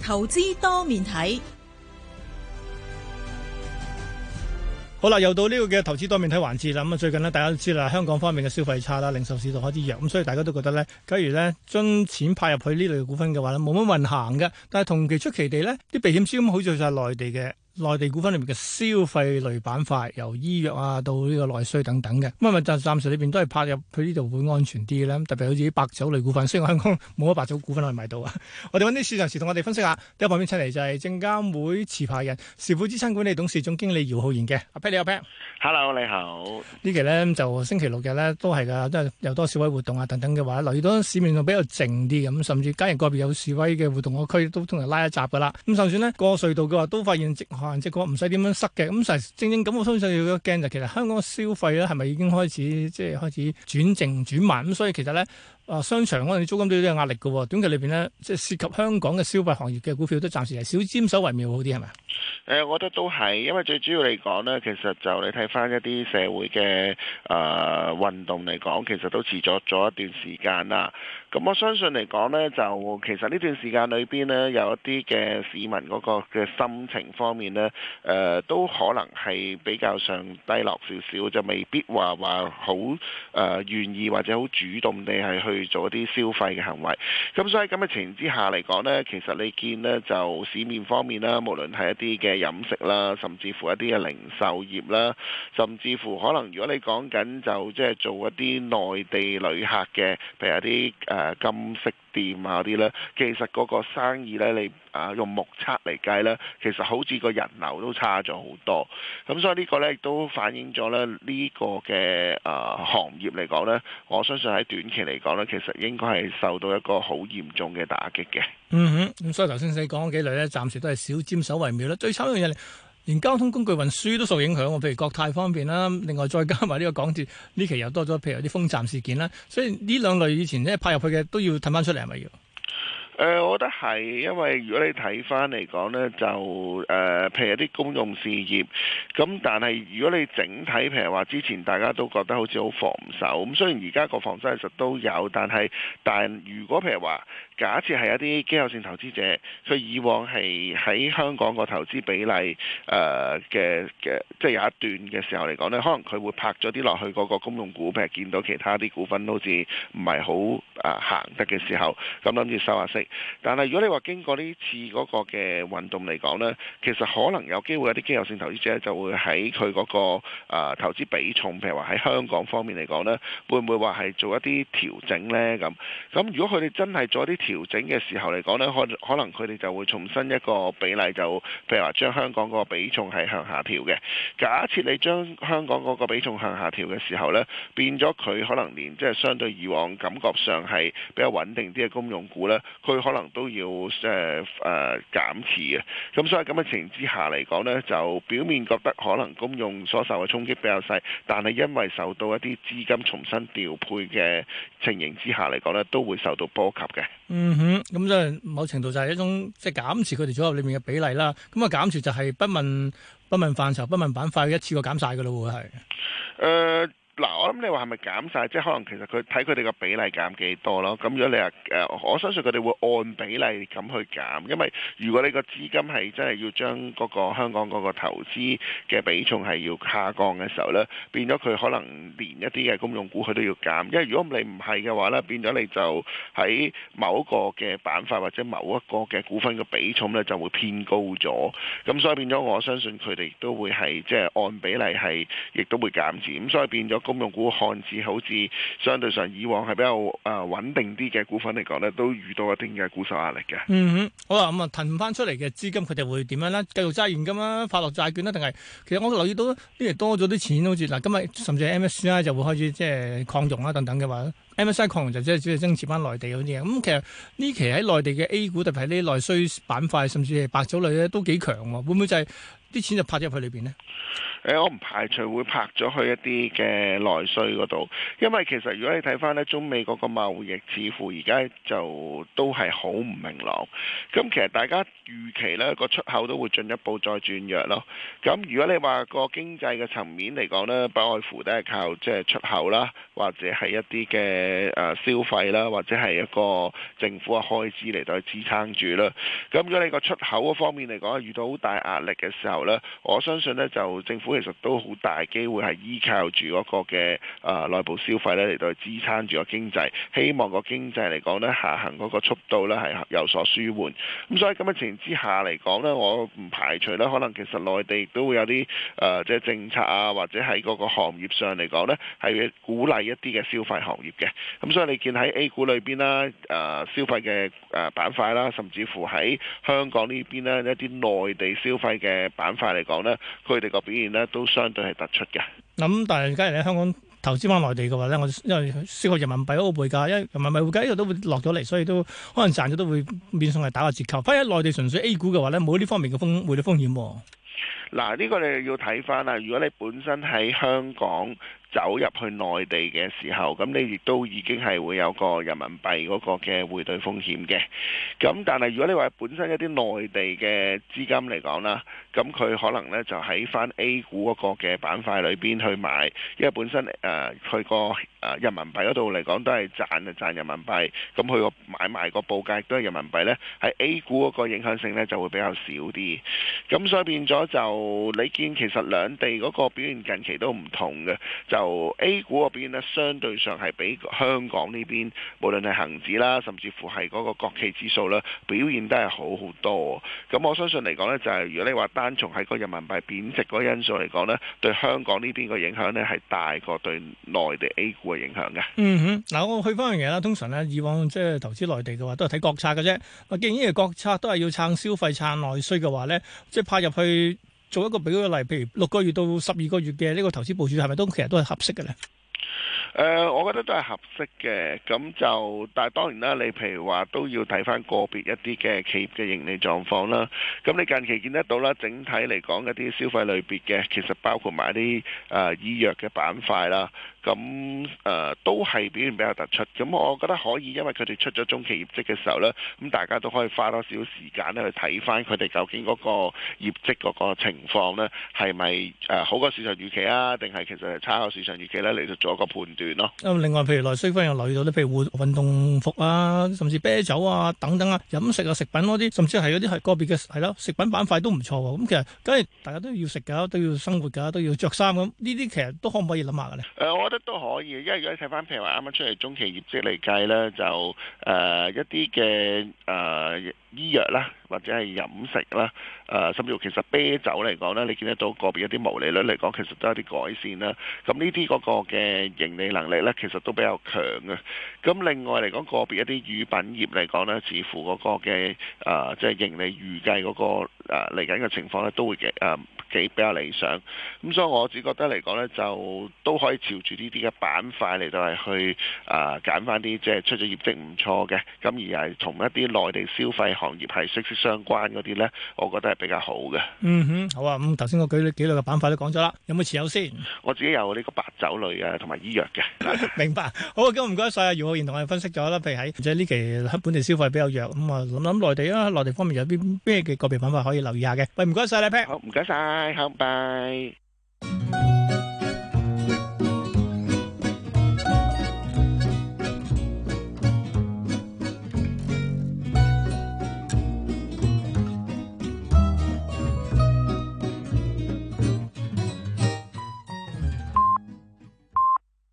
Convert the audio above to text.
投資多面睇。 好啦，又到呢個嘅投資多面睇環節啦。咁啊，最近呢，大家都知啦，香港方面嘅消費差啦，零售市道開始弱，咁所以大家都覺得呢，假如呢將錢派入去呢類嘅股份嘅話呢，冇乜運行嘅。但係同期出奇地呢，啲避險資金好似就係內地嘅。內地股份裏面嘅消費類板塊，由醫藥啊到呢個內需等等嘅，咁啊暫時裏邊都係拍入去呢度會安全啲咧。特別好似啲白酒類股份，雖然香港冇乜白酒股份可以買到啊。我哋揾啲市場時同我哋分析下。第一旁邊請嚟就係證監會持牌人時富資產管理董事總經理姚浩然嘅。阿 Pat 你好 Pat。Hello， 你好。 呢期咧就星期六日咧都係㗎，都係有多示威活動啊等等嘅話，留意到市面上比較靜啲咁，甚至假如個別有示威嘅活動個區都通常拉一閘㗎啦。咁就算呢過隧道嘅話，都發現即係唔使點樣塞嘅，咁實正正咁我相信要驚就其實香港嘅消費咧係咪已經開始開始轉靜轉慢咁，所以其實咧商場可能租金都有啲壓力嘅，短期裏邊呢，即係涉及香港嘅消費行業嘅股票都暫時係少沾手為妙好啲係咪？ 我覺得都係，因為最主要嚟講呢，其實就你睇翻一啲社會嘅運動嚟講，其實都持續咗一段時間啦。咁我相信嚟講呢，就其實呢段時間裏邊呢，有一啲嘅市民嗰個嘅心情方面呢，都可能係比較上低落少少，就未必話好願意或者好主動地係去做一啲消費嘅行為。咁所以咁嘅情形之下嚟講呢，其實你見呢，就市面方面啦，無論係一啲嘅飲食啦，甚至乎一啲嘅零售業啦，甚至乎可能如果你講緊就即係做一啲內地旅客嘅，譬如一啲金飾店啊啲咧，其實嗰個生意咧，你用目測嚟計咧，其實好似個人流都差咗好多。咁所以呢個咧亦都反映咗咧呢個嘅行業嚟講咧，我相信喺短期嚟講咧，其實應該係受到一個好嚴重嘅打擊嘅。 咁所以頭先你講嗰幾類咧，暫時都係少沾手為妙啦。最慘一樣嘢，連交通工具運輸都受影響喎，譬如國泰方面啦，另外再加埋呢個港鐵呢期又多咗，譬如有啲封站事件啦，所以呢兩類以前咧派入去嘅都要褪翻出嚟係咪要？ 我覺得係，因為如果你睇翻嚟講呢，就譬如啲公用事業，咁但係如果你整體譬如話之前大家都覺得好似好防守，咁雖然而家個防守其實都有，但如果譬如話假設係一啲機構性投資者，佢以往係喺香港個投資比例即係有一段嘅時候嚟講呢，可能佢會拍咗啲落去嗰個公用股，譬如見到其他啲股份好似唔係好行得嘅時候，咁諗住收下息。但係如果你話經過呢次嗰個嘅運動嚟講呢，其實可能有機會有啲機構性投資者就會喺佢嗰個投資比重，譬如話喺香港方面嚟講呢，會唔會話係做一啲調整呢？咁如果佢哋真係做一啲調整嘅時候嚟講呢，可能佢哋就會重新一個比例，就譬如話將香港嗰個比重係向下調嘅。假設你將香港嗰個比重向下調嘅時候呢，變咗佢可能連即係相對以往感覺上係比較穩定啲嘅公用股呢，佢可能都要減持嘅。咁所以咁嘅情形之下嚟講呢，就表面覺得可能公用所受嘅衝擊比較細，但係因為受到一啲資金重新調配嘅情形之下嚟講呢，都會受到波及嘅。 咁即係某程度就係一種即係減持佢哋組合裏面嘅比例啦。咁減持就係不問範疇、不問板塊，一次過減晒㗎咯喎，係。 嗱，我諗你話係咪減晒？即係可能其實佢睇佢哋個比例減幾多咯。咁如果你話我相信佢哋會按比例咁去減，因為如果你個資金係真係要將嗰個香港嗰個投資嘅比重係要下降嘅時候呢，變咗佢可能連一啲嘅公用股佢都要減。因為如果你唔係嘅話呢，變咗你就喺某一個嘅板塊或者某一個嘅股份嘅比重呢就會偏高咗。咁所以變咗我相信佢哋都會係即係按比例係亦都會減持。咁所以變咗公用股看似好似相對上以往係比較穩定啲嘅股份嚟講呢，都遇到一定嘅股售壓力嘅。 好啦，咁騰翻出嚟嘅資金佢哋會點樣呢？繼續揸現金啦，發落債券啦，定係其實我留意到呢期多咗啲錢，好似嗱今日甚至係 MSCI 就會開始即係擴容啦等等嘅話。MSCI 擴容就即係只係增持翻內地嗰啲嘢，咁其實呢期喺內地嘅 A 股特別係呢啲內需板塊，甚至係白酒類咧都幾強喎。會唔會就係啲錢就拍咗入去裏邊呢？ 我唔排除會拍咗去一啲嘅內需嗰度，因為其實如果你睇翻咧中美嗰個貿易，似乎而家就都係好唔明朗。咁其實大家預期咧個出口都會進一步再轉弱咯。咁如果你話個經濟嘅層面嚟講呢，不外乎都係靠即係出口啦，或者係一啲嘅消費啦，或者係一個政府嘅開支嚟到去支撐住啦。咁如果你個出口嗰方面嚟講遇到好大壓力嘅時候呢，我相信呢就政府其實都好大機會係依靠住嗰個嘅內部消費咧嚟到去支撐住個經濟，希望個經濟嚟講咧下行嗰個速度咧係有所舒緩。咁所以咁嘅情形之下嚟講咧，我唔排除咧可能其實內地都會有啲即係政策啊，或者喺嗰個行業上嚟講咧係鼓勵一啲嘅消費行業嘅。咁所以你見喺 A 股裏邊啦，消費嘅板塊啦，甚至乎喺香港呢邊咧一啲內地消費嘅板塊嚟講咧，佢哋個表現咧都相對係突出嘅。 咁但係假如喺香港投資翻內地嘅話咧，我因為涉及人民幣嗰個匯價，因為人民幣匯價呢度都會落咗嚟，所以都可能賺咗都會變相係打個折扣。反而喺內地純粹 A 股嘅話咧，冇呢方面嘅匯率風險喎。 嗱，呢個你要睇翻啦。如果你本身喺香港走入去內地嘅時候，咁你亦都已經係會有個人民幣嗰個嘅匯兌風險嘅。咁但係如果你話本身一啲內地嘅資金嚟講啦，咁佢可能呢就喺翻 A 股嗰個嘅板塊裏邊去買，因為本身佢個人民幣嗰度嚟講都係賺人民幣，咁佢個買賣個報價亦都係人民幣呢，喺 A 股嗰個影響性呢就會比較少啲。咁所以變咗就你見其實兩地嗰個表現近期都唔同嘅。就 A 股嗰邊咧，相對上係比香港呢邊，無論係恒指啦，甚至乎係嗰個國企指數啦，表現都係好好多。咁我相信嚟講呢，就係如果你話單從喺個人民幣貶值嗰個因素嚟講呢，對香港呢邊個影響呢係大過對內地 A 股嘅影響嘅。 嗯哼，嗱我去翻樣嘢啦，通常呢，以往即係投資內地嘅話，都係睇國策嘅啫。既然呢個國策都係要撐消費、撐內需嘅話呢，即係派入去做一個俾個例，譬如6個月到12個月嘅呢個投資部署，係咪其實都係合適嘅呢？ 我覺得都係合適嘅，咁就但係當然啦，你譬如話都要睇翻個別一啲嘅企業嘅盈利狀況啦。咁你近期見得到啦，整體嚟講一啲消費類別嘅，其實包括埋啲醫藥嘅板塊啦。咁都係表現比較突出，咁我覺得可以，因為佢哋出咗中期業績嘅時候呢，咁大家都可以花多少時間咧去睇翻佢哋究竟嗰個業績嗰個情況呢，係咪好過市場預期啊，定係其實係差過市場預期呢？嚟到做一個判斷咯。另外，譬如內需方面又留意到咧，譬如運動服啊，甚至啤酒啊等等啊，飲食啊食品嗰啲，甚至係嗰啲係個別嘅係咯食品板塊都唔錯喎。咁其實梗係大家都要食㗎，都要生活㗎，都要着衫咁，呢啲其實都可唔可以諗下嘅咧？我覺得都可以，因為如果你睇翻譬如話啱啱出嚟中期業績嚟計咧，就一啲嘅醫藥啦，或者係飲食啦，甚至乎其實啤酒嚟講咧，你見得到個別一啲毛利率嚟講，其實都有啲改善啦。咁呢啲嗰個嘅盈利能力咧，其實都比較強嘅。咁另外嚟講，個別一啲乳品業嚟講咧，似乎嗰個嘅即係盈利預計嗰個嚟緊嘅情況咧，都會幾比較理想。咁所以我只覺得嚟講咧，就都可以朝住呢啲嘅板塊嚟到係去揀翻啲即係出咗業績唔錯嘅，咁而係同一啲內地消費行業係息息相關嗰啲咧，我覺得係比較好嘅。嗯哼，好啊。咁頭先我舉幾類嘅板塊都講咗啦，有冇持有先？我自己有呢個白酒類啊，同埋醫藥嘅。明白。好，咁唔該晒啊，姚浩然同我哋分析咗啦。譬如喺即係呢期本地消費比較弱，咁啊諗內地啊，內地方面有啲咩嘅個別板塊可以留意下嘅。喂，唔該晒你 Pat。好，唔該晒，好，拜。